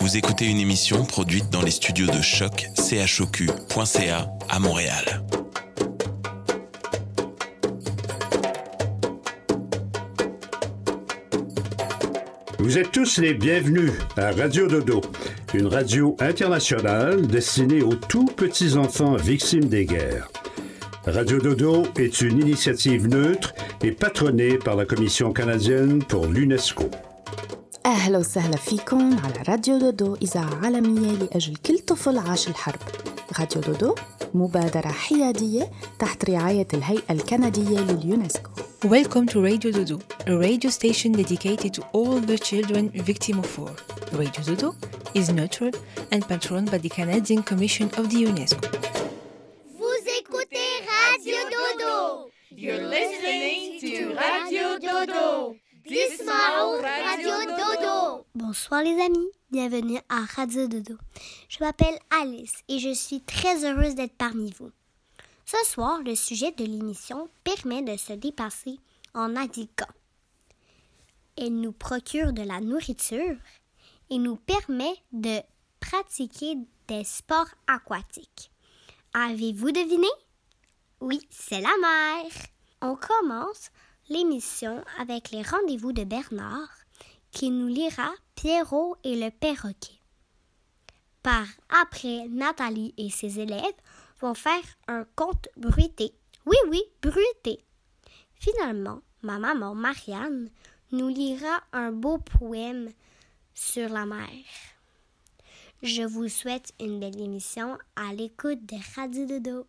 Vous écoutez une émission produite dans les studios de Choc, choq.ca à Montréal. Vous êtes tous les bienvenus à Radio Dodo, une radio internationale destinée aux tout petits enfants victimes des guerres. Radio Dodo est une initiative neutre et patronnée par la Commission canadienne pour l'UNESCO. أهلا وسهلا فيكم على راديو دودو إذاعة عالمية لأجل كل طفل عاش الحرب. راديو دودو مبادرة حيادية تحت رعاية الهيئة الكندية لليونسكو. Welcome to Radio Dodo, a radio station dedicated to all the children victims of war. Radio Dodo is neutral and patroned by the Canadian Commission of the UNESCO. Vous écoutez Radio Dodo. You're listening to Radio Dodo. Dismao Radio Dodo. Bonsoir les amis, bienvenue à Radio Dodo. Je m'appelle Alice et je suis très heureuse d'être parmi vous. Ce soir, le sujet de l'émission permet de se dépasser en naviguant. Elle nous procure de la nourriture et nous permet de pratiquer des sports aquatiques. Avez-vous deviné? Oui, c'est la mer. On commence l'émission avec les rendez-vous de Bernard qui nous lira Pierrot et le perroquet. Par après, Nathalie et ses élèves vont faire un conte bruité. Oui, bruité. Finalement, ma maman Marianne nous lira un beau poème sur la mer. Je vous souhaite une belle émission à l'écoute de Radio Dodo.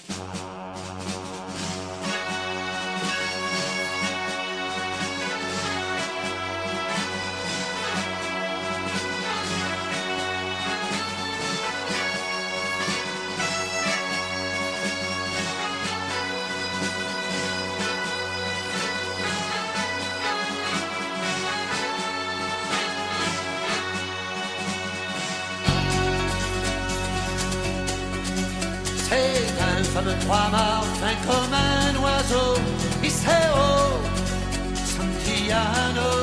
C'est un fameux trois-mâts fin comme un oiseau, Iseo, Santillano,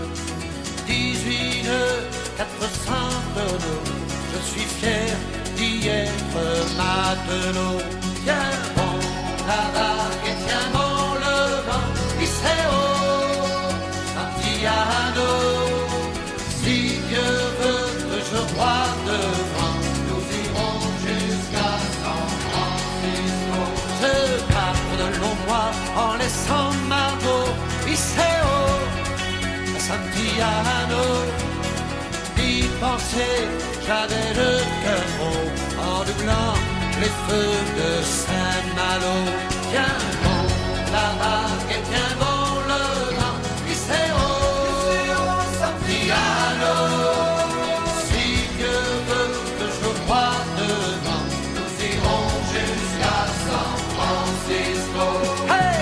18 nœuds, 400 tonneaux. Je suis fier d'y être matelot. Tiens bon la vague et tiens bon le vent, Iseo, Santillano. Si Dieu veut que je voie devant, nous irons jusqu'à San Francisco. Je pars de longs mois en laissant Margot, Iseo, Santillano. Y penser, j'avais le cœur gros en doublant les feux de Saint-Malo. Tiens bon la vague et tiens bon le vent, Iseo, Santillano. Si Dieu veut que je voie devant, nous irons jusqu'à San Francisco. Hey!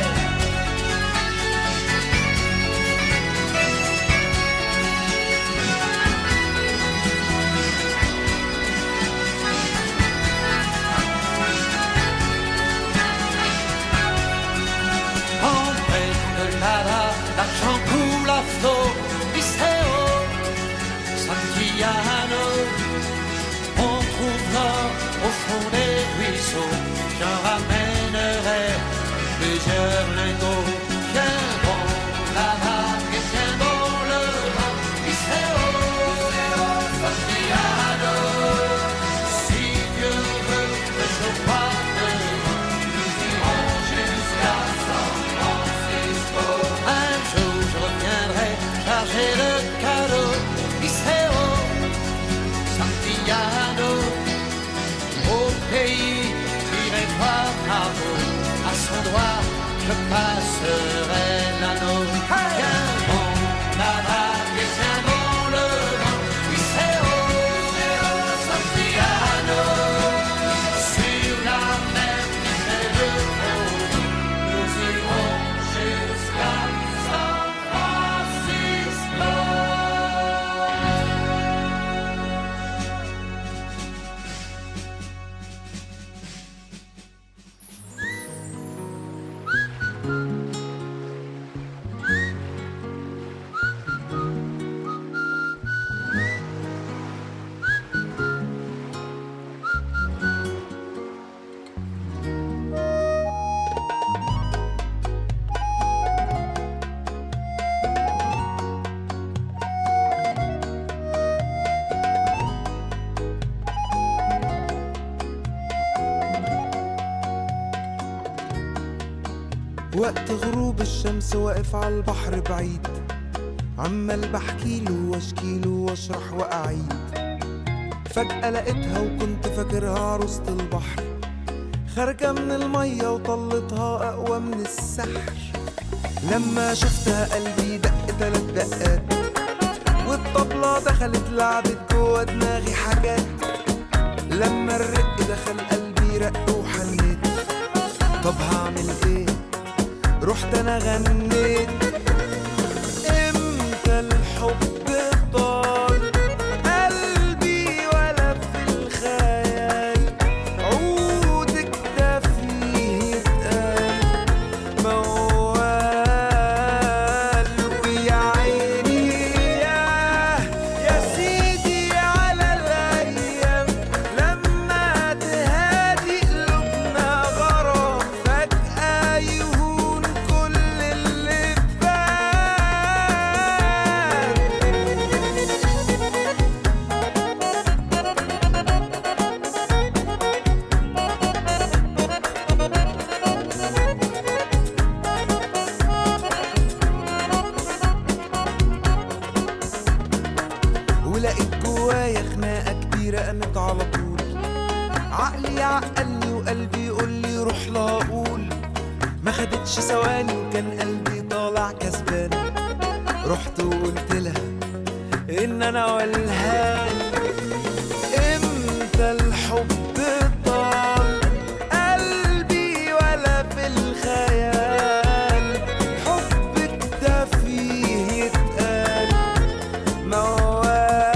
En mer de Lara, l'argent coule à flot, Iseo, Santillano. On trouve l'or au fond des ruisseaux, j'en ramènerai plusieurs lingots. Tiens bon la vague et tiens bon le vent, Iseo, Santillano. Si Dieu veut que je voie devant, nous irons jusqu'à San Francisco. Un jour je reviendrai charger le cadeau, Iseo, Santillano. Au pays tiré par Margot, à son doigt je passerai l'anneau. Tiens bon la vague et tiens bon le vent, Iseo, Santillano. Sur la mer qui fait le pont, nous irons jusqu'à San Francisco. وقت غروب الشمس واقف على البحر بعيد، عمال بحكيله واشكيله واشرح واعيد. فجأة لقيتها وكنت فاكرها عروسة البحر، خارجة من المية وطلتها أقوى من السحر. لما شفتها قلبي دق 3 دقات، والطبلة دخلت لعبت جوا دماغي حاجات. لما الرق دخل قلبي رق وحنيت، طب هعمل ايه؟ رحت انا غنيت. امتى الحب طال قلبي ولا في الخيال، عودك ده فيه يتقال موال. ويا عيني يا سيدي على الايام، لما تهادي قلوبنا غرام، فجأة يهون كل اللي فات. ولقيت جوايا خناقة كبيرة قامت على طول، عقلي يعقلني وقلبي يقولي روح لا اقول. ما خدتش ثواني وكان قلبي طالع كسبان، رحت وقلت لها ان انا والهان. امتى الحب طال قلبي ولا في الخيال، حبك ده فيه يتقال موال.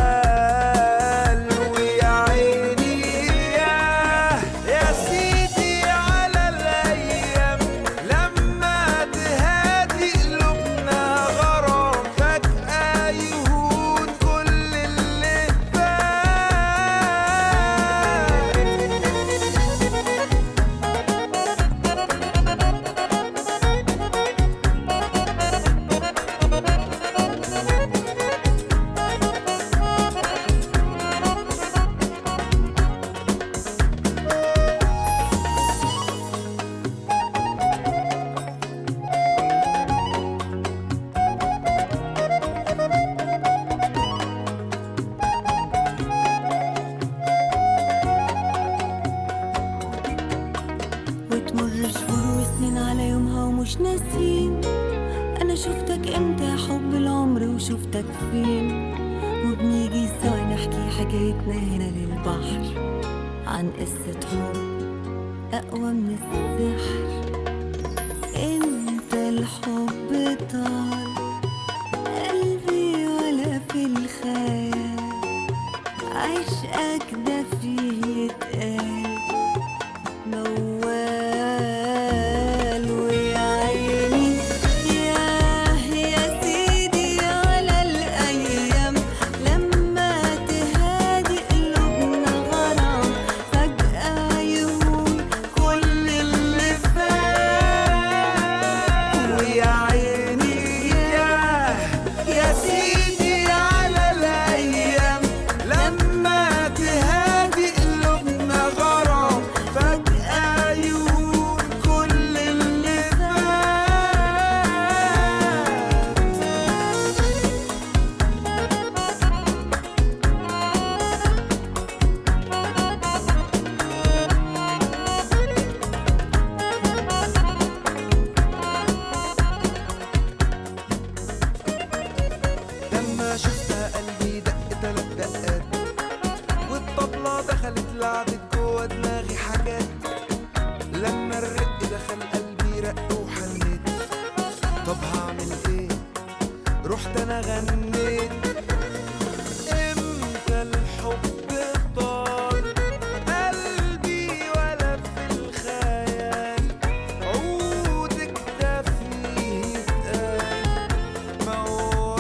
ويا عيني يا سيدي على الايام، لما تهادي قلوبنا غرام، فجأة يهون كل اللي فات. وتمر شهور وسنين على يومها ومش ناسين، انا شفتك امتى يا حب العمر وشفتك فين. وبنيجي سوا نحكي حكايتنا هنا للبحر، عن قصة حب اقوى من السحر. امتى الحب طال قلبي ولا في الخيال، عشقك ده فيه يتقال موال. ويا عيني يا سيدي على الأيام، لما تهادي قلوبنا غرام، فجأة يهون كل اللي فات. ويا عيني يا سيدي على الايام، لما تهادي قلوبنا غرام، فجأة يهون كل اللي فات. لما شفتها قلبي دق 3 دقات، والطبلة دخلت لعبت جوا دماغي حاجات. لما الرق دخل قلبي رق وحنيت، طب هعمل ايه؟ رحت انا غنيت. امتى الحب طال قلبي ولا في الخيال، عودك ده فيه يتقال موال.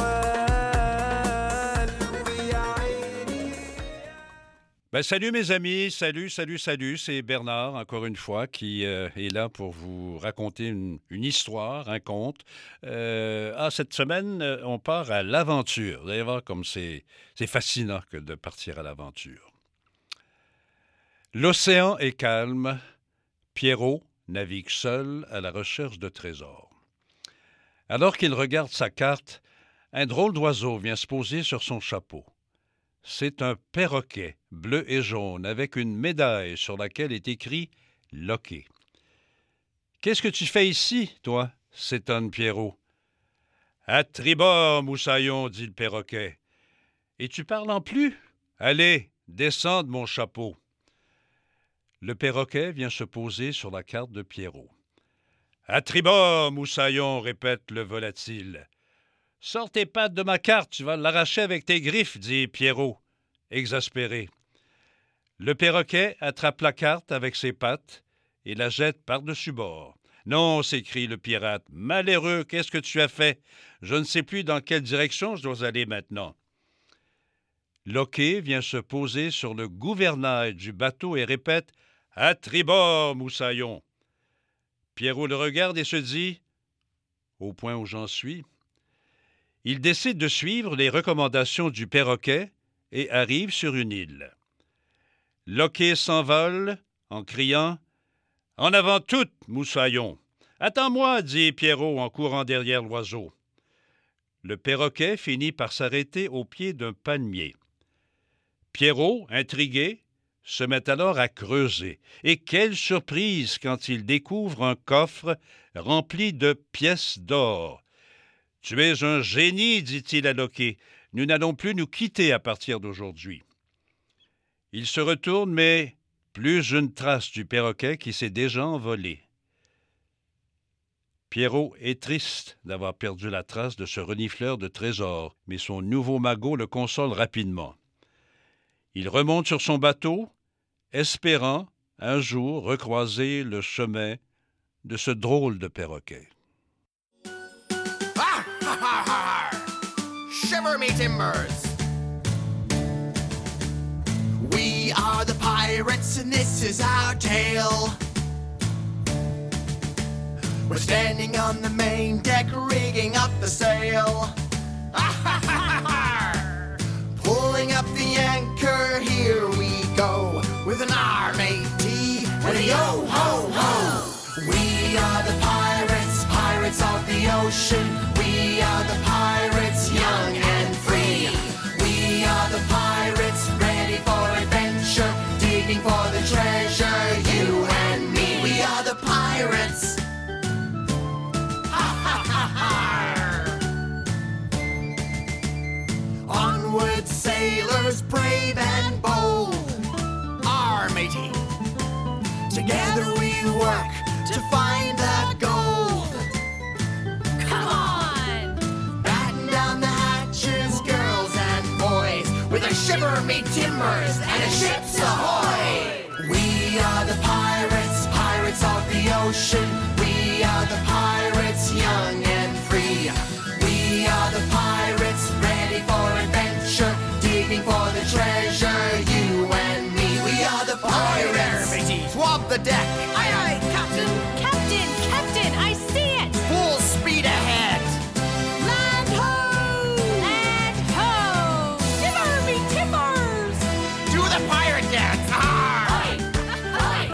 ويا عيني. Salut mes amis, salut, c'est Bernard, encore une fois, qui est là pour vous raconter une histoire, un conte. Cette semaine, on part à l'aventure. Vous allez voir comme c'est fascinant que de partir à l'aventure. L'océan est calme, Pierrot navigue seul à la recherche de trésors. Alors qu'il regarde sa carte, un drôle d'oiseau vient se poser sur son chapeau. C'est un perroquet bleu et jaune avec une médaille sur laquelle est écrit « Loquet ». « Qu'est-ce que tu fais ici, toi ?» s'étonne Pierrot. « À tribord, moussaillon, dit le perroquet. Et tu parles en plus? Allez, descends de mon chapeau. » Le perroquet vient se poser sur la carte de Pierrot. « À tribord, moussaillon, répète le volatile. »« Sors tes pattes de ma carte, tu vas l'arracher avec tes griffes, dit Pierrot, exaspéré. Le perroquet attrape la carte avec ses pattes et la jette par-dessus bord. « Non, s'écrie le pirate, malheureux, qu'est-ce que tu as fait? Je ne sais plus dans quelle direction je dois aller maintenant. » Loquet vient se poser sur le gouvernail du bateau et répète « À tribord, moussaillon ». Pierrot le regarde et se dit « Au point où j'en suis ». Il décide de suivre les recommandations du perroquet et arrive sur une île. Loquet s'envole en criant « En avant toute, moussaillon !»« Attends-moi, dit Pierrot en courant derrière l'oiseau. Le perroquet finit par s'arrêter au pied d'un palmier. Pierrot, intrigué, se met alors à creuser. Et quelle surprise quand il découvre un coffre rempli de pièces d'or. « Tu es un génie, dit-il à Loquet. Nous n'allons plus nous quitter à partir d'aujourd'hui. » Il se retourne, mais plus une trace du perroquet qui s'est déjà envolé. Pierrot est triste d'avoir perdu la trace de ce renifleur de trésors, mais son nouveau magot le console rapidement. Il remonte sur son bateau, espérant un jour recroiser le chemin de ce drôle de perroquet. Ha ha ha ha! Shiver me timbers! We are the pirates and this is our tale. We're standing on the main deck, rigging up the sail. Pulling up the anchor, here we go, with an R-A-T and a yo-ho-ho. We are the pirates, pirates of the ocean. We are the pirates, young and free. We are the pirates, ready for adventure, digging for the treasure, you and me. We are the pirates. Onward, sailors, brave and bold. Our matey. Together we work to find the gold. Come on! Batten down the hatches, girls and boys, with a shiver me timbers and a ship's ahoy! We are the pirates, pirates of the ocean. We are the pirates, young and free. We are the pirates, ready for adventure, digging for the treasure, you and me. We are the pirates. Matey, swab the deck. Aye, aye, Captain. Captain, Captain, I see it. Full speed ahead. Land ho! Land ho! Shiver me timbers! Do the pirate dance. Arr! Aye! Aye!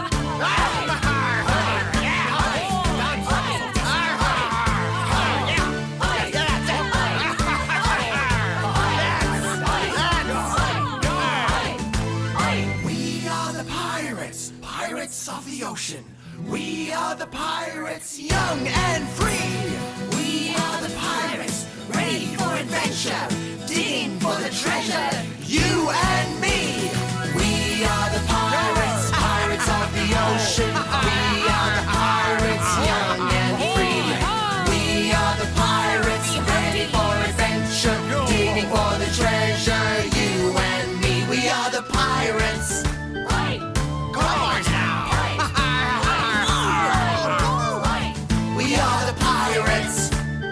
We are the pirates, pirates of the ocean. We are the pirates, young and free. We are the pirates, ready for adventure, digging for the treasure, you and me. We are the pirates, pirates of the ocean. We are the pirates, young and free. We are the pirates, ready for adventure, digging for the treasure, you and me. We are the pirates. Come on now. We are the pirates.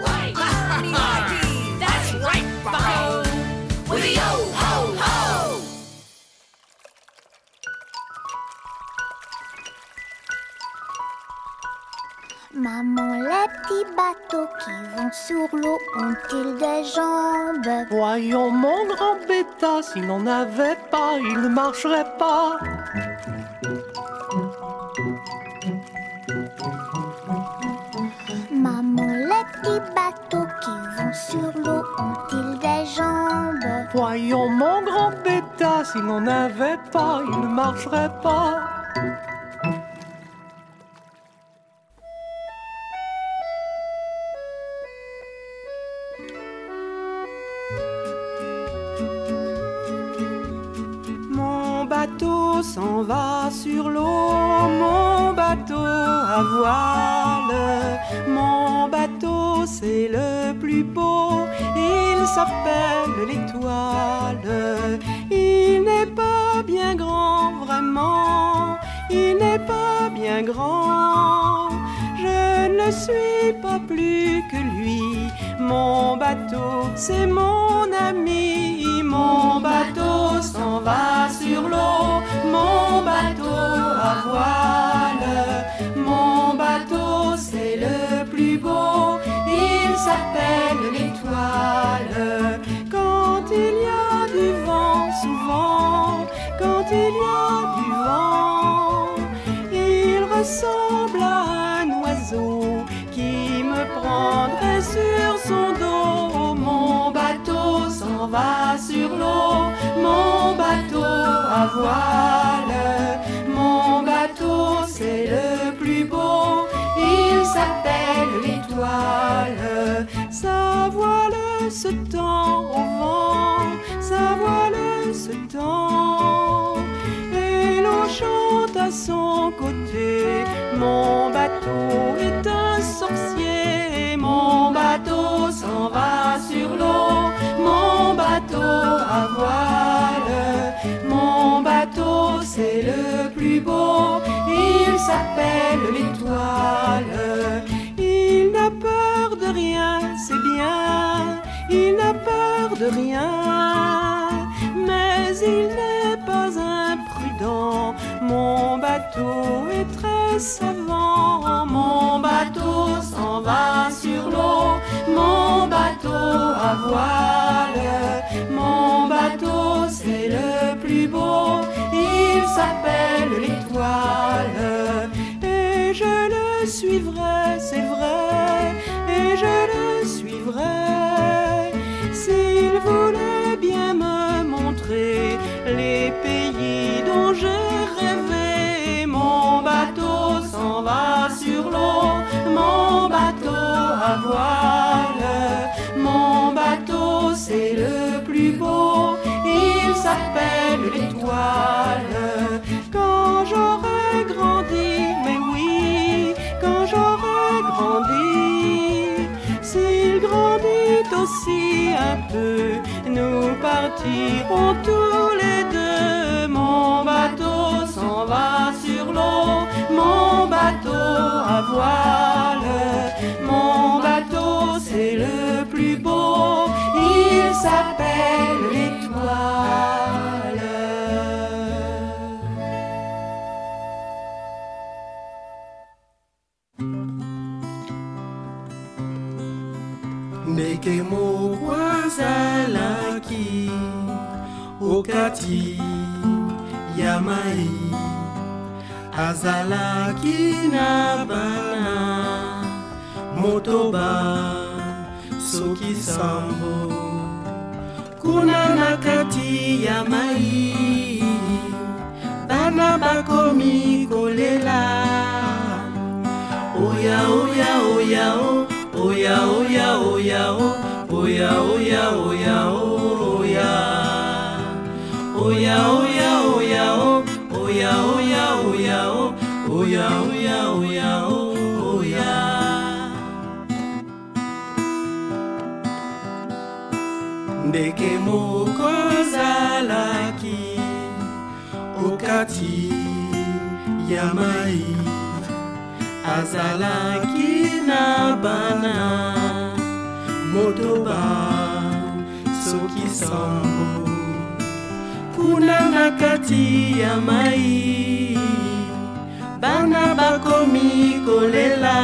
That's right, Bucko. With a yo-ho-ho. Maman, les petits bateaux qui vont sur l'eau ont-ils des jambes? Voyons mon grand bêta, s'il n'en avait pas, il ne marcherait pas. vont sur l'eau ont-ils des jambes? Voyons mon grand bêta, s'il n'en avait pas, il ne marcherait pas. Mon bateau s'en va sur l'eau, mon bateau à voile. Mon bateau c'est le plus beau, il s'appelle l'Étoile. Il n'est pas bien grand vraiment, il n'est pas bien grand. Je ne suis pas plus que lui, mon bateau c'est mon ami. Mon bateau s'en va sur l'eau, mon bateau à voile. Mon bateau c'est le plus beau, il s'appelle l'Étoile. Quand il y a du vent souvent, quand il y a du vent, il ressemble à un oiseau qui me prendrait sur son dos. Mon bateau s'en va sur l'eau, mon bateau à voile. Mon bateau c'est le plus beau, il s'appelle l'Étoile. Sa voile se tend au vent, sa voile se tend, et l'on chante à son côté. Mon bateau est un sorcier, mon bateau s'en va sur l'eau, mon bateau à voile. Mon bateau c'est le plus beau, il s'appelle l'Étoile. Il n'a peur de rien, c'est bien, il n'a peur de rien, mais il n'est pas imprudent. Mon bateau est très savant, mon bateau s'en va sur l'eau, mon bateau à voile. Mon bateau c'est le plus beau, il s'appelle l'Étoile. Et je le suivrai, c'est vrai, et je le suivrai, s'il voulait bien me montrer les pays dont j'ai rêvé. Mon bateau s'en va sur l'eau, mon bateau à voile. Mon bateau c'est le plus beau, il s'appelle l'Étoile. Quand j'aurai grandi, mais oui, quand j'aurai grandi, s'il grandit aussi un peu, nous partirons tous les deux. Mon bateau s'en va sur l'eau, mon bateau à voile. Mon bateau c'est le plus beau, il s'appelle l'Étoile. Nekemo kwazalaki okati ya mai, azalaki na bana motoba soki sambo. Kuna na kati ya mai, bana bakomi kolela. Oya oya oya o, oya oya oya o, oya oya oya oya. Oya oya oya o, oya oya oya o, oya oya oya oya. Ndeke moko azalaki okati ya mai, azalaki na bana motoba soki sambo. Kuna na kati ya mai, bana bakomi kolela.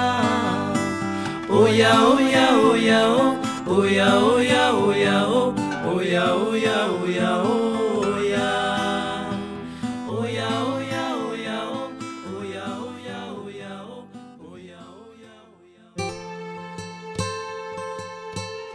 Oya oya oya o, oya oya oya o, oya oya oya oya. Oya oya oya o, oya oya oya o, oya oya oya.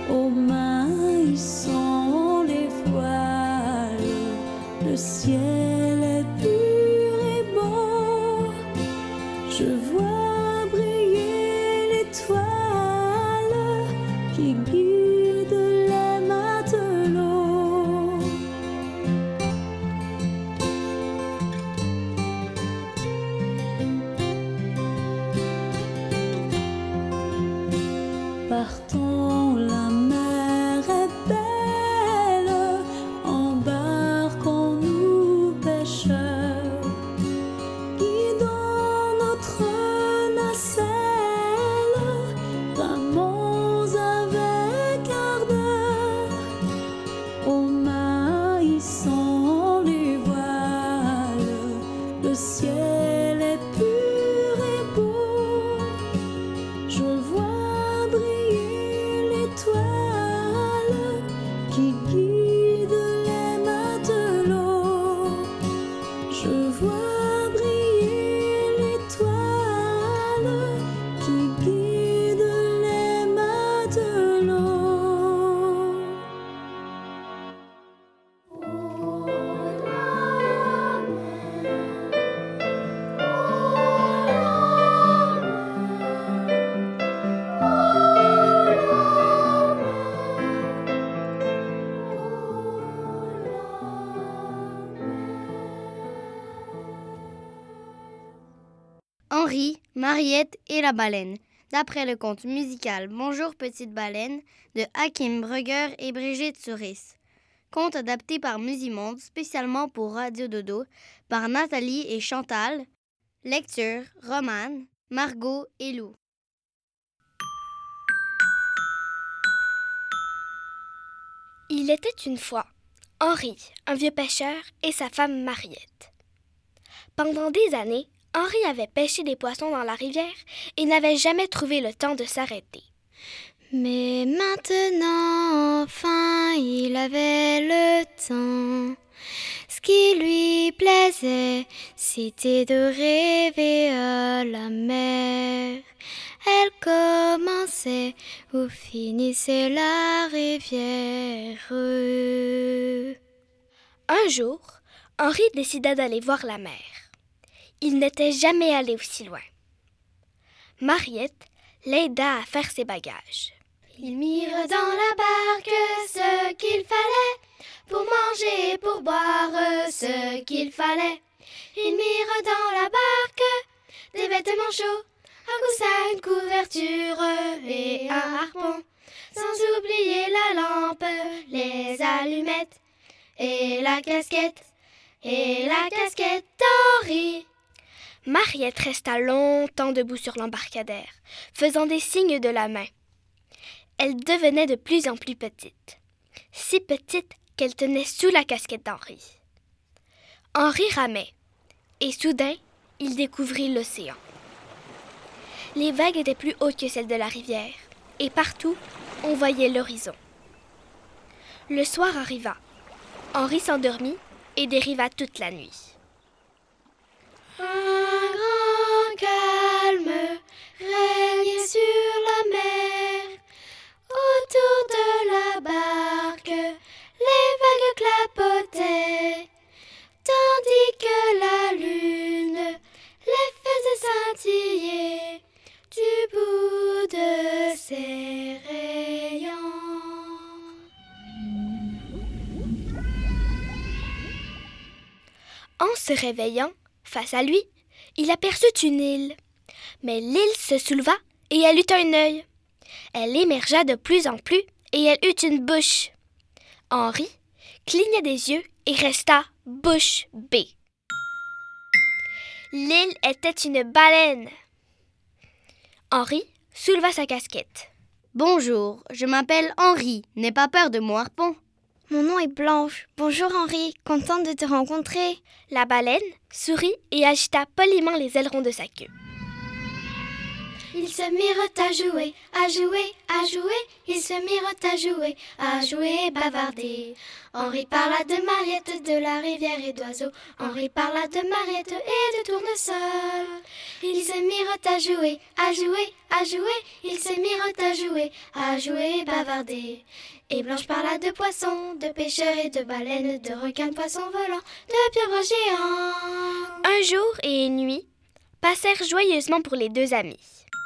Aux mains ils sont les voiles, le ciel est pur et beau. Je vois briller l'étoile qui guide les matelots. Partons, la mer est belle, embarquons-nous pêcheurs, guidons notre nacelle, ramons avec ardeur. Aux mains ils sont les voiles, le ciel est pur et beau. Je vois briller l'étoile qui guide les matelots. Je vois briller l'étoile qui guide les matelots. Henri, Mariette et la baleine, d'après le conte musical Bonjour petite baleine de Hakim Brugger et Brigitte Souris. Conte adapté par Musimonde spécialement pour Radio Dodo par Nathalie et Chantal. Lecture, Romane, Margot et Lou. Il était une fois Henri, un vieux pêcheur, et sa femme Mariette. Pendant des années, Henri avait pêché des poissons dans la rivière et n'avait jamais trouvé le temps de s'arrêter. Mais maintenant, enfin, il avait le temps. Ce qui lui plaisait, c'était de rêver à la mer. Elle commençait où finissait la rivière. Un jour, Henri décida d'aller voir la mer. Il n'était jamais allé aussi loin. Mariette l'aida à faire ses bagages. Ils mirent dans la barque ce qu'il fallait pour manger et pour boire ce qu'il fallait. Ils mirent dans la barque des vêtements chauds, un coussin, une couverture et un harpon, sans oublier la lampe, les allumettes et la casquette d'Henri. Mariette resta longtemps debout sur l'embarcadère, faisant des signes de la main. Elle devenait de plus en plus petite, si petite qu'elle tenait sous la casquette d'Henri. Henri ramait, et soudain, il découvrit l'océan. Les vagues étaient plus hautes que celles de la rivière, et partout, on voyait l'horizon. Le soir arriva. Henri s'endormit et dériva toute la nuit. Un grand calme régnait sur la mer. Autour de la barque, les vagues clapotaient, tandis que la lune les faisait scintiller du bout de ses rayons. En se réveillant, face à lui, il aperçut une île. Mais l'île se souleva et elle eut un œil. Elle émergea de plus en plus et elle eut une bouche. Henri cligna des yeux et resta bouche bée. L'île était une baleine. Henri souleva sa casquette. Bonjour, je m'appelle Henri. N'aie pas peur de mon harpon. Mon nom est Blanche. Bonjour Henri, contente de te rencontrer. La baleine sourit et agita poliment les ailerons de sa queue. Ils se mirent à jouer, à jouer, à jouer. Ils se mirent à jouer, et bavarder. Henri parla de Mariette, de la rivière et d'oiseaux. Henri parla de Mariette et de tournesol. Ils se mirent à jouer, à jouer, à jouer. Ils se mirent à jouer, bavarder. Et Blanche parla de poissons, de pêcheurs et de baleines, de requins, de poissons volants, de pieuvres géants. Un jour et une nuit passèrent joyeusement pour les deux amis.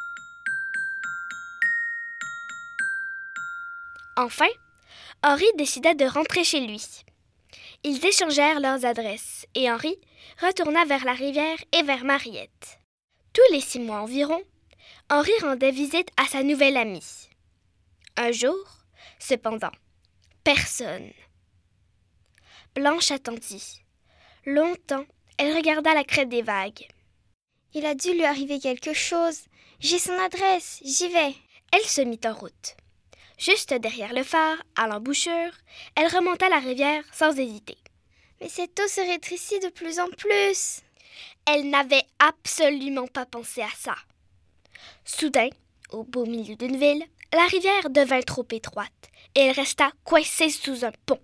Enfin, Henri décida de rentrer chez lui. Ils échangèrent leurs adresses et Henri retourna vers la rivière et vers Mariette. Tous les 6 mois environ, Henri rendait visite à sa nouvelle amie. Un jour, cependant, personne. Blanche attendit. Longtemps, elle regarda la crête des vagues. Il a dû lui arriver quelque chose. J'ai son adresse, j'y vais. Elle se mit en route. Juste derrière le phare, à l'embouchure, elle remonta la rivière sans hésiter. Mais cette eau se rétrécit de plus en plus. Elle n'avait absolument pas pensé à ça. Soudain, au beau milieu d'une ville, la rivière devint trop étroite et elle resta coincée sous un pont.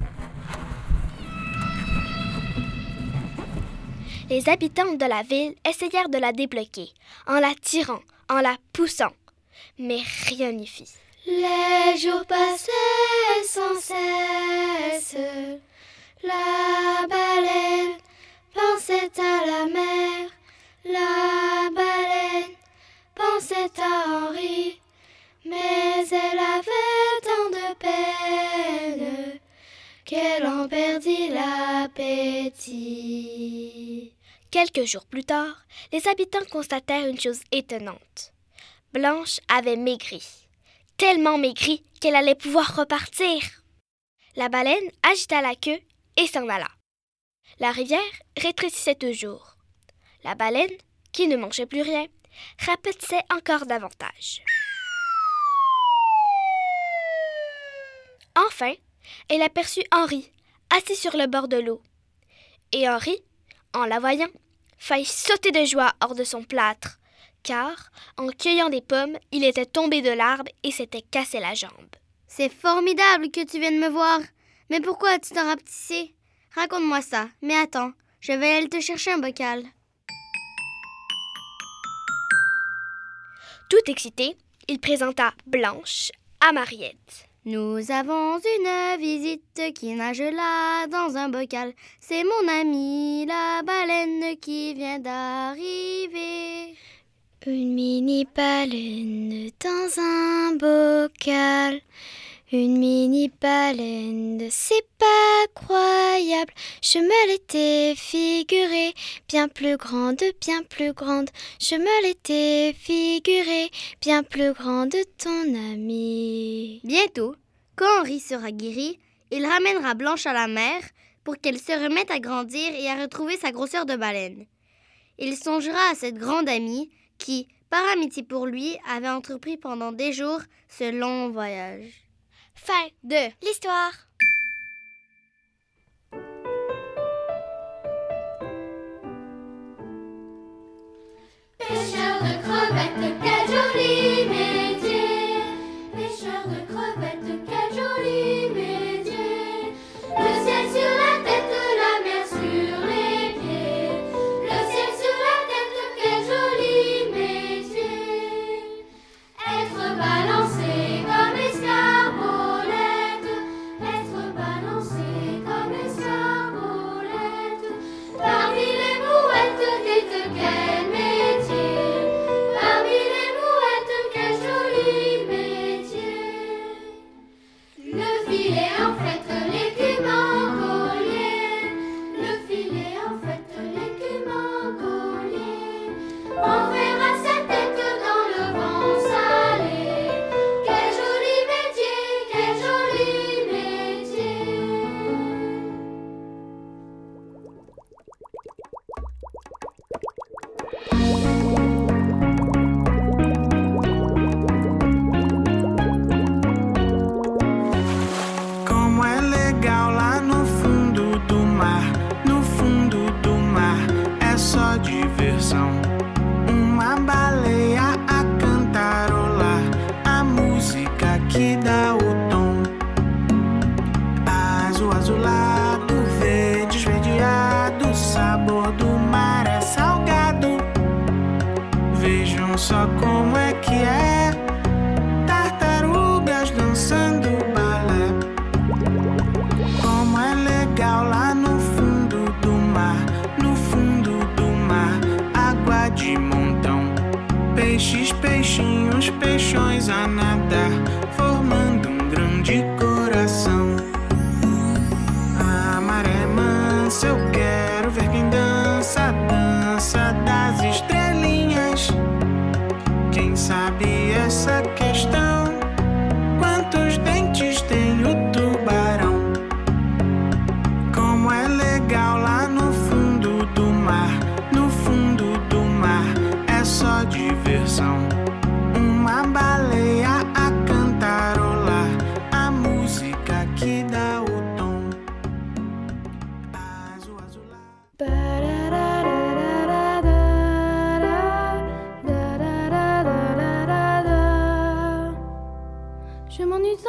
Les habitants de la ville essayèrent de la débloquer, en la tirant, en la poussant, mais rien n'y fit. Les jours passaient sans cesse, la baleine pensait à la mer, la baleine pensait à Henri, mais elle avait tant de peine qu'elle en perdit l'appétit. Quelques jours plus tard, les habitants constatèrent une chose étonnante. Blanche avait maigri. Tellement maigrie qu'elle allait pouvoir repartir. La baleine agita la queue et s'en alla. La rivière rétrécissait toujours. La baleine, qui ne mangeait plus rien, rapetissait encore davantage. Enfin, elle aperçut Henri, assis sur le bord de l'eau. Et Henri, en la voyant, faillit sauter de joie hors de son plâtre, car, en cueillant des pommes, il était tombé de l'arbre et s'était cassé la jambe. C'est formidable que tu viennes me voir. Mais pourquoi as-tu t'en rapetissé? Raconte-moi ça. Mais attends, je vais aller te chercher un bocal. Tout excité, il présenta Blanche à Mariette. Nous avons une visite qui nage là dans un bocal. C'est mon amie, la baleine, qui vient d'arriver. Une mini-baleine dans un bocal. Une mini-baleine, c'est pas croyable. Je me l'étais figurée, bien plus grande, bien plus grande. Je me l'étais figurée, bien plus grande, ton amie. Bientôt, quand Henri sera guéri, il ramènera Blanche à la mer pour qu'elle se remette à grandir et à retrouver sa grosseur de baleine. Il songera à cette grande amie qui, par amitié pour lui, avait entrepris pendant des jours ce long voyage. Fin de l'histoire. Pêcheur de crevettes, quel joli métier! Pêcheur de crevettes, quel joli métier! Le ciel sur la tête, la mer sur les pieds. Le ciel sur la tête, quel joli métier! Être balancé comme escarbolette, être balancé comme escarbolette. Parmi les mouettes, dites quel métier! Parmi les mouettes, quel joli métier!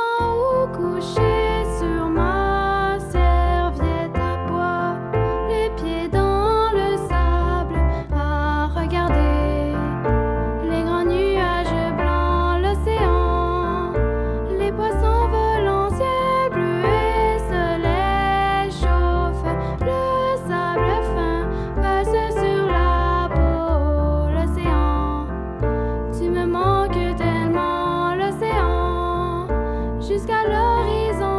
temps où couché sur ma serviette à bois, les pieds dans le sable, à regarder les grands nuages blancs, l'océan, les poissons volent en ciel bleu et soleil chauffe, le sable fin passe sur la peau, l'océan, tu me manques tellement, l'océan, jusqu'à l'horizon.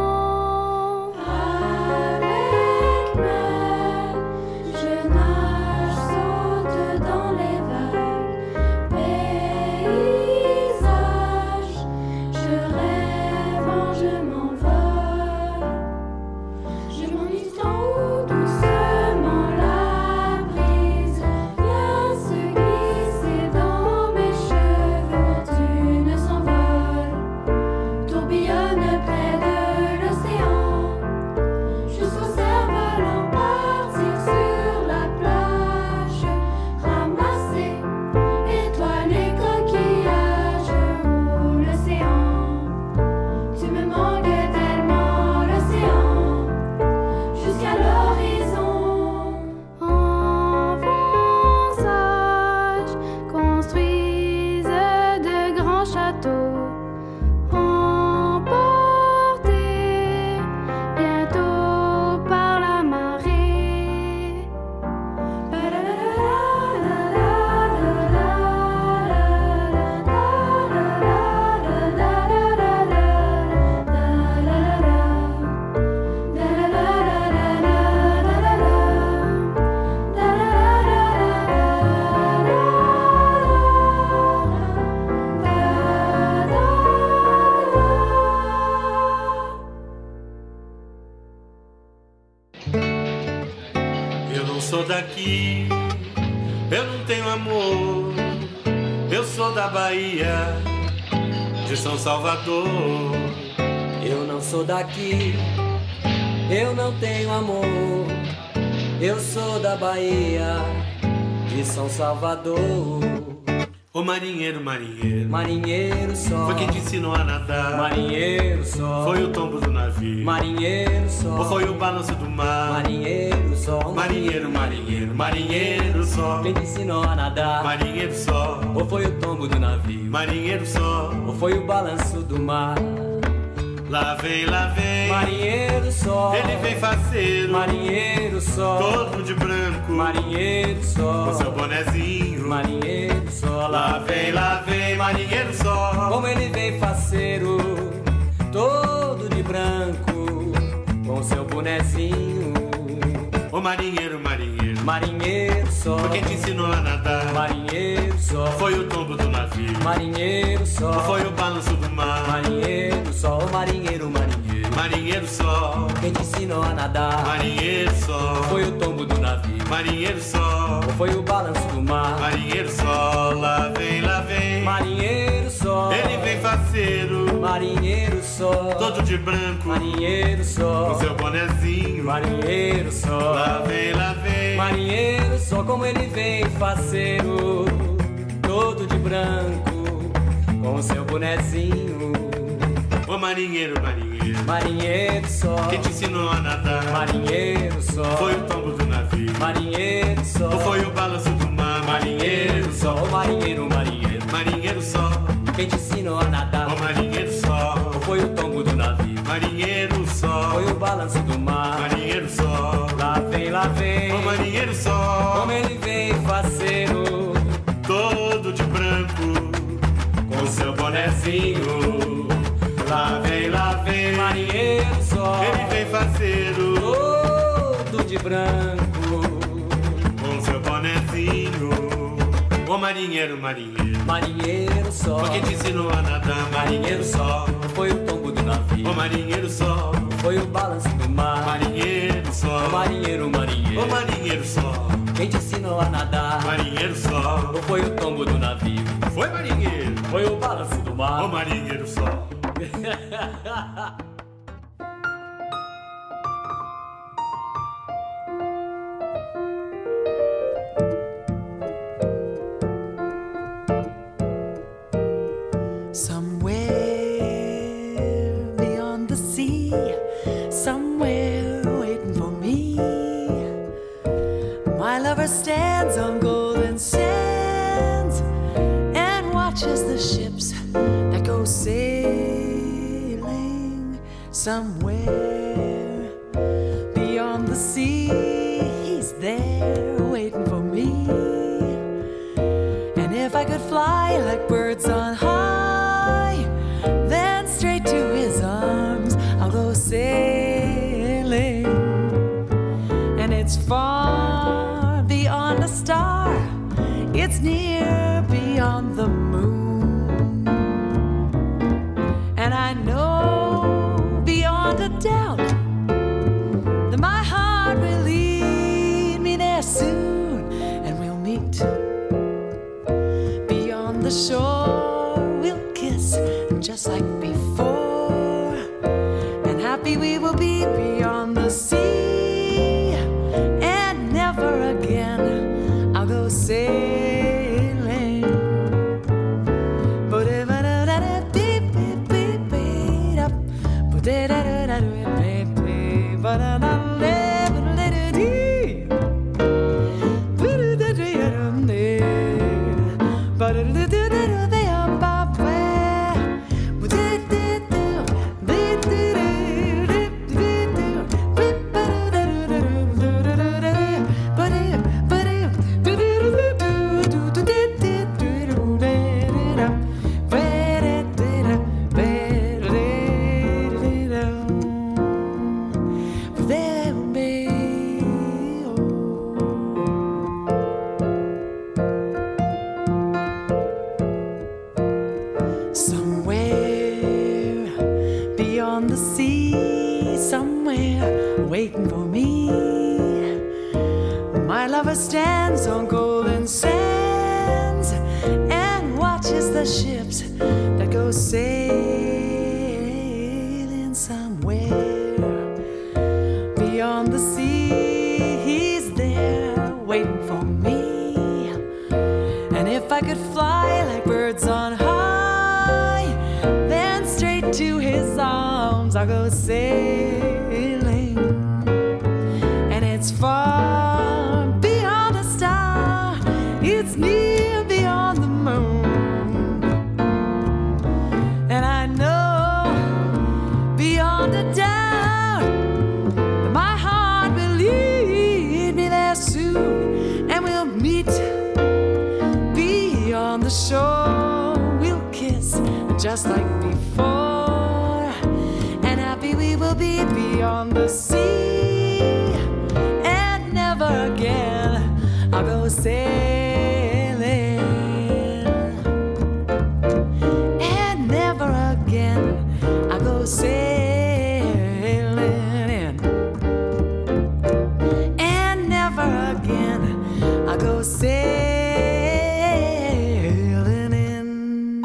Avec mer, je nage, saute dans les vagues, paysage, je rêve, je m'envole, je m'ennuie tant où doucement la brise vient se glisser dans mes cheveux d'une s'envole, tourbillonne près de l'océan, jusqu'au cerf-volant partir sur la plage, ramasser étoiles et coquillages, ou l'océan, tu me manques tellement, l'océan, jusqu'à l'horizon. Enfants sages construisent de grands châteaux, emportés bientôt par la marée. Eu não sou daqui, eu não tenho amor. Eu sou da Bahia, de São Salvador. Eu não sou daqui, eu não tenho amor. Eu sou da Bahia, de São Salvador. Ô marinheiro, marinheiro, Marinheiro só, foi quem te ensinou a nadar. marinheiro só, Foi o tombo do navio, marinheiro só, ou foi o balanço do mar. marinheiro só, Marinheiro, marinheiro, marinheiro só. quem te ensinou a nadar? Marinheiro só, Ou foi o tombo do navio? marinheiro só. Ou foi o balanço do mar? Lá vem, Marinheiro só, ele vem faceiro, marinheiro só, todo de branco, marinheiro só, com seu bonezinho. marinheiro só. Lá vem, marinheiro só. Como ele vem faceiro, todo de branco, com seu bonezinho. Ô marinheiro, marinheiro, Marinheiro só, foi quem te ensinou a nadar. marinheiro só, Foi o tombo do navio, marinheiro só, ou foi o balanço do mar. marinheiro só, marinheiro, marinheiro, Marinheiro só, quem te ensinou a nadar? marinheiro só. Foi o tombo do navio, Marinheiro só, ou foi o balanço do mar? marinheiro só. Lá vem, Marinheiro só, ele vem faceiro, marinheiro só, todo de branco, marinheiro só, com seu bonezinho. marinheiro só, Lá vem, marinheiro só, como ele vem faceiro, todo de branco, com seu bonezinho. ô marinheiro, marinheiro, Marinheiro só, quem te ensinou a nadar. marinheiro só, Foi o tombo do navio, marinheiro só, ou foi o balanço do mar. marinheiro só, ô marinheiro, marinheiro, marinheiro só. quem te ensinou a nadar? Ô marinheiro só, Ou foi o tombo do navio? marinheiro só. Foi o balanço do mar? Marinheiro só, Lá vem, ô marinheiro só. como ele vem faceiro, Todo de branco, com seu bonezinho. Lá vem, marinheiro só, ele vem faceiro, todo de branco, com seu bonezinho. Ô marinheiro, marinheiro, marinheiro só, foi quem te ensinou a nadar. Marinheiro só, foi o tombo do navio, ô marinheiro só. foi o balanço do mar? Marinheiro só, Marinheiro, marinheiro, ô marinheiro só. quem te ensinou a nadar? Marinheiro só, Ou foi o tombo do navio? foi marinheiro, Foi o balanço do mar? ô marinheiro só. Somewhere Somewhere beyond the sea, he's there waiting for me. And if I could fly like birds on high, then straight to his arms I'll go sailing. And it's far beyond a star, it's near beyond the moon. And I know beyond a doubt that my heart will lead me there soon. And we'll meet beyond the shore, we'll kiss just like before. And happy we will be beyond the sea. And never again I'll go sailing. Stands on golden sands and watches the ships that go sailing somewhere beyond the sea. He's there waiting for me. And if I could fly like birds on high, then straight to his arms I'll go sailing. And it's far, it's near beyond the moon. And I know beyond a doubt that my heart will lead me there soon. And we'll meet beyond the shore, we'll kiss just like before. And happy we will be beyond the sea. And never again I'll go sailing. And never again I'll go sailing. And never again I'll go sailing.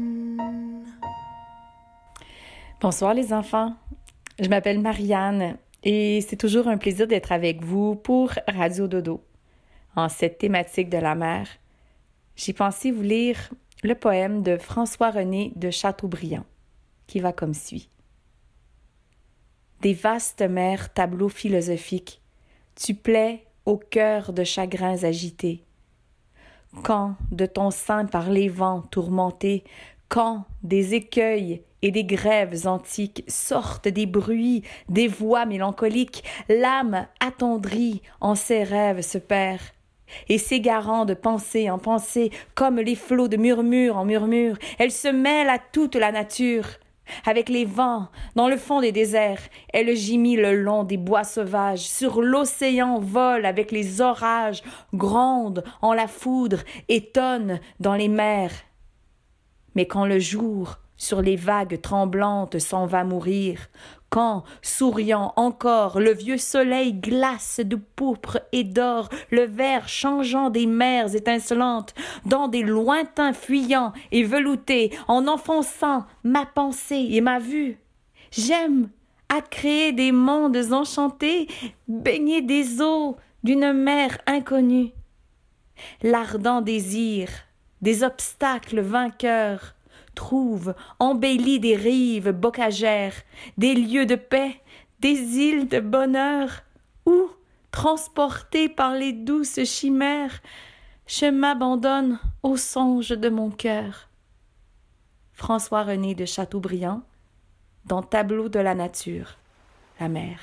Bonsoir les enfants, je m'appelle Marianne et c'est toujours un plaisir d'être avec vous pour Radio Dodo. En cette thématique de la mer, j'ai pensé vous lire le poème de François-René de Chateaubriand, qui va comme suit. Des vastes mers, tableaux philosophiques, tu plais au cœur de chagrins agités. Quand de ton sein par les vents tourmentés, quand des écueils et des grèves antiques sortent des bruits, des voix mélancoliques, l'âme attendrie en ses rêves se perd. Et s'égarant de pensée en pensée, comme les flots de murmure en murmure, elle se mêle à toute la nature. Avec les vents, dans le fond des déserts, elle gimit le long des bois sauvages, sur l'océan vole avec les orages, gronde en la foudre, étonne dans les mers. Mais quand le jour, sur les vagues tremblantes, s'en va mourir, quand, souriant encore, le vieux soleil glace de pourpre et d'or, le vert changeant des mers étincelantes, dans des lointains fuyants et veloutés, en enfonçant ma pensée et ma vue. J'aime à créer des mondes enchantés, baigner des eaux d'une mer inconnue. L'ardent désir des obstacles vainqueurs trouve embellis des rives bocagères, des lieux de paix, des îles de bonheur, où, transporté par les douces chimères, je m'abandonne aux songes de mon cœur. François-René de Chateaubriand, dans Tableau de la nature, la mer.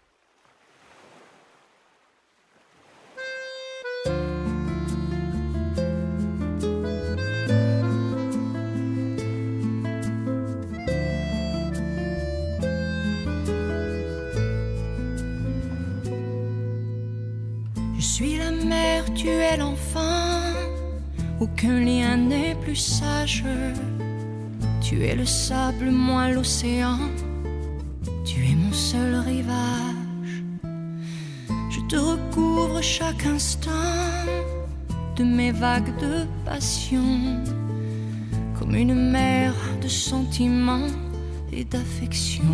Je suis la mer, tu es l'enfant, aucun lien n'est plus sage. Tu es le sable, moi l'océan, tu es mon seul rivage. Je te recouvre chaque instant de mes vagues de passion, comme une mer de sentiments et d'affection.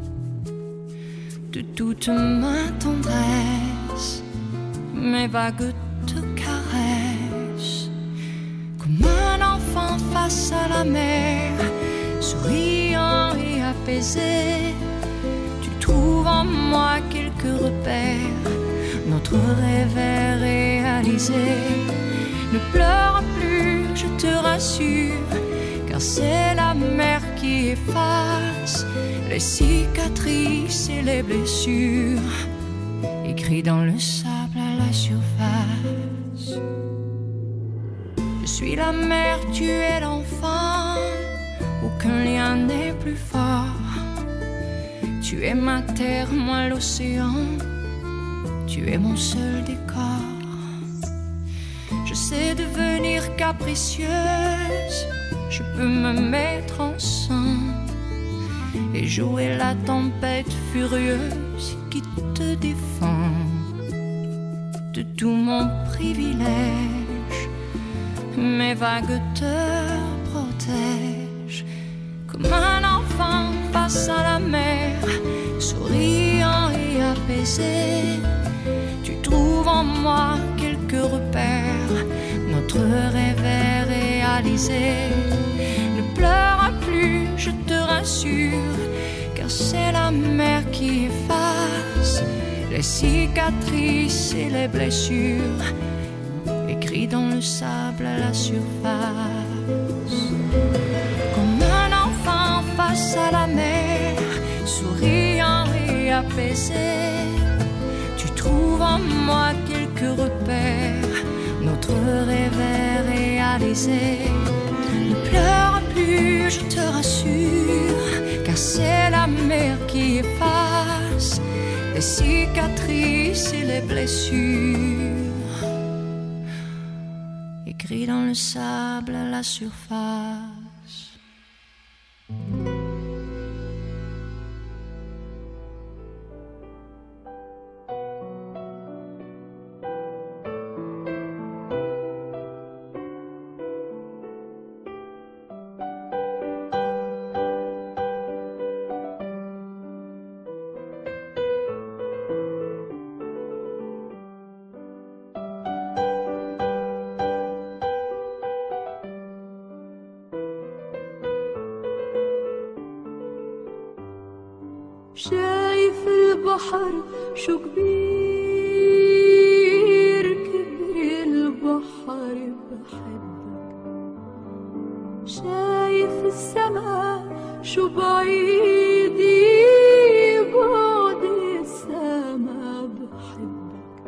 De toute ma tendresse, mes vagues te caressent, comme un enfant face à la mer, souriant et apaisé. Tu trouves en moi quelques repères, notre rêve est réalisé. Ne pleure plus, je te rassure, car c'est la mer qui efface les cicatrices et les blessures, écrits dans le sable à la surface. Je suis la mer, tu es l'enfant, aucun lien n'est plus fort. Tu es ma terre, moi l'océan, tu es mon seul décor. Je sais devenir capricieuse, je peux me mettre en sang et jouer la tempête furieuse qui te défend. De tout mon privilège, mes vagues te protègent, comme un enfant face à la mer, souriant et apaisé. Tu trouves en moi quelques repères, notre rêve est réalisé. Ne pleure plus, je te rassure, car c'est la mer qui efface les cicatrices et les blessures, écrits dans le sable à la surface. Comme un enfant face à la mer, souriant et apaisé. Tu trouves en moi quelques repères, notre rêve est réalisé. Ne pleure plus, je te rassure, car c'est la mer qui efface les cicatrices et les blessures, écrits dans le sable à la surface. شايف البحر شو كبير، كبر البحر بحبك. شايف السما شو بعيد، بعد السما بحبك.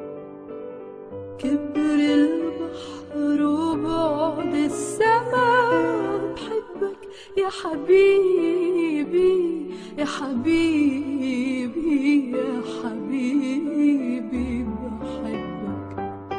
كبر البحر وبعد السما بحبك يا حبيبي، يا حبيبي، يا حبيبي بحبك.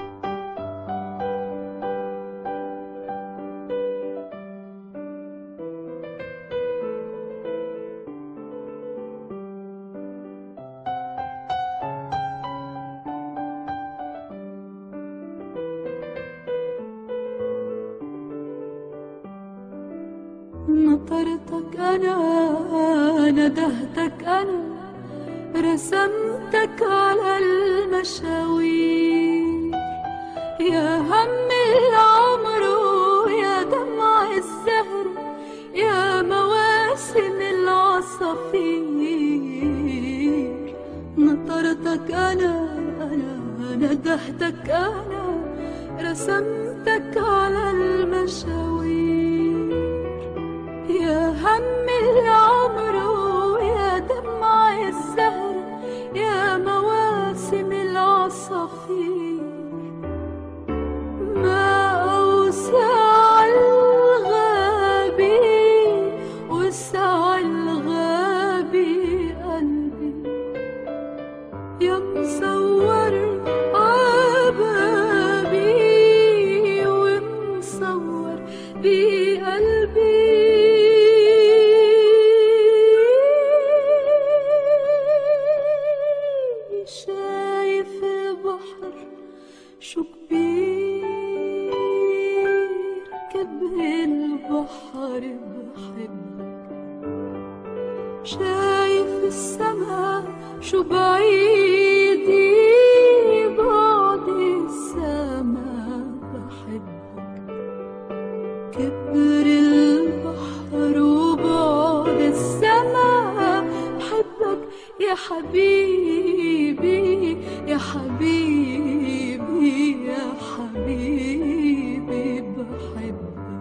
نطرتك أنا، ندهتك أنا، رسمتك على المشاوير. يا هم العمر ويا دمع الزهر، يا مواسم العصافير. نطرتك أنا، ندهتك أنا، رسمتك على المشاوير. يا هم العمر السما شو بعيدي بعد السما بحبك كبر البحر وبعد السما بحبك يا حبيبي يا حبيبي يا حبيبي بحبك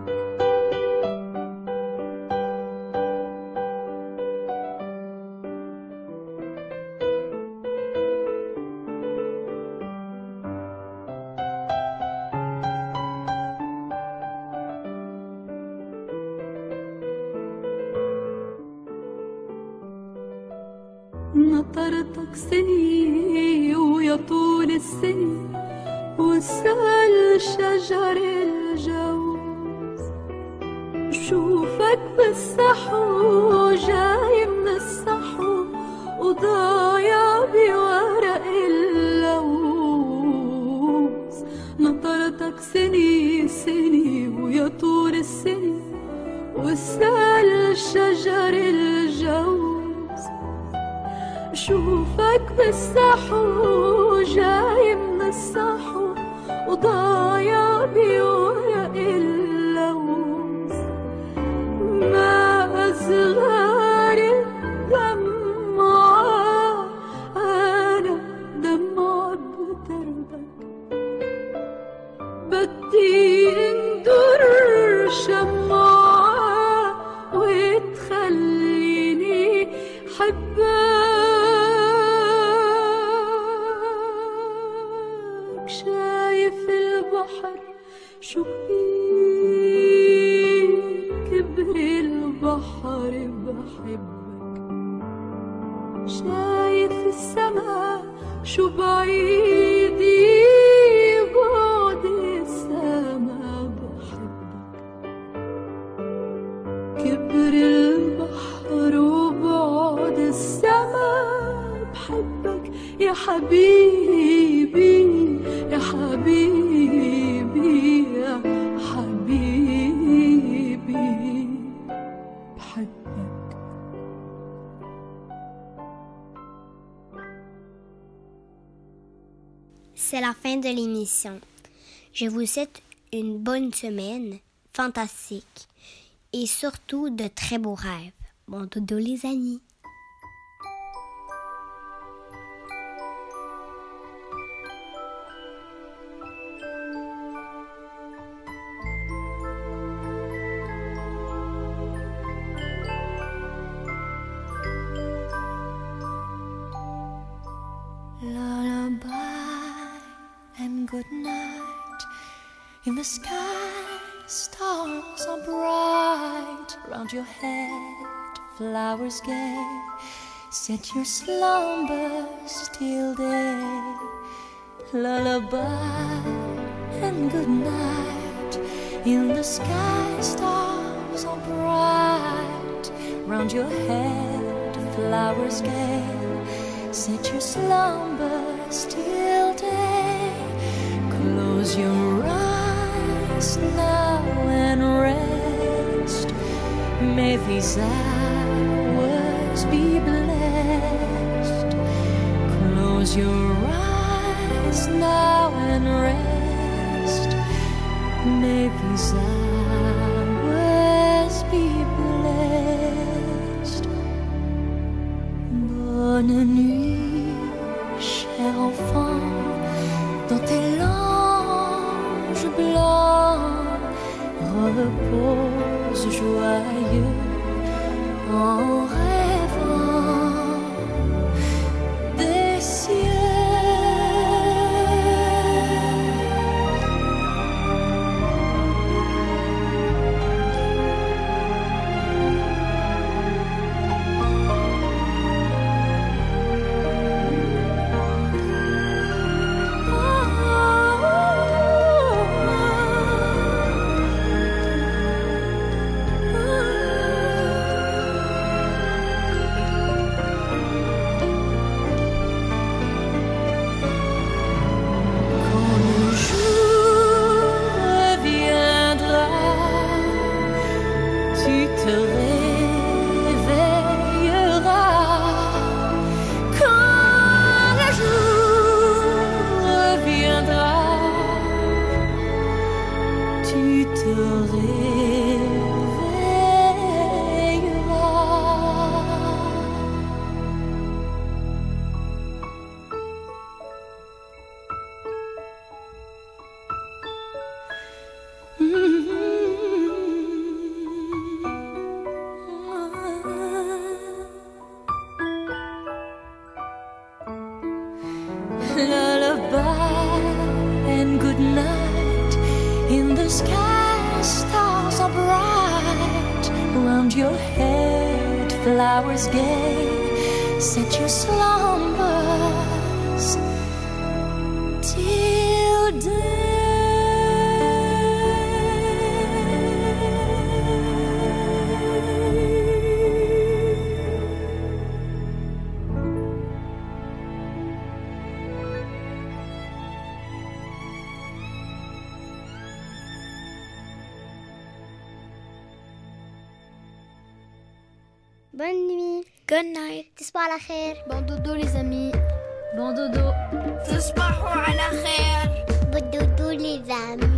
نطرتك سني ويا طول السني وسال شجر الجوز شوفك بالسحو جاي من السحو وضايع بورق اللوز نطرتك سني سني ويا طول السني وسال شجر الجوز شوفك بالسحو جاي من السحو وضايع بورق اللوز ما أصغر الدمعة أنا دمعة بدربك بدي اندر شمعة وتخليني حبك شو كبر البحر بحبك شايف السما شو بعيدي بعد السما بحبك كبر البحر وبعد السما بحبك يا حبيبي يا حبيبي يا حبيبي بحبك. C'est la fin de l'émission. Je vous souhaite une bonne semaine, fantastique, et surtout de très beaux rêves. Bon dodo les amis. Good night. In the sky, stars are bright. Round your head, flowers gay. Set your slumbers till day. Lullaby and good night. In the sky, stars are bright. Round your head, flowers gay. Set your slumbers till day. Close your eyes now and rest. May these hours be blessed. Close your eyes now and rest. May these hours be blessed. Bonne nuit, cher enfant, dans tes langes blancs, repose joyeux en rêvant des cieux. the sky, stars are bright. Around your head, flowers gay, set your slumbers till day. Bonne nuit. Good night. تصبحوا على خير. Bon dodo les amis. Bon dodo. تصبحوا على خير. Bon dodo les amis.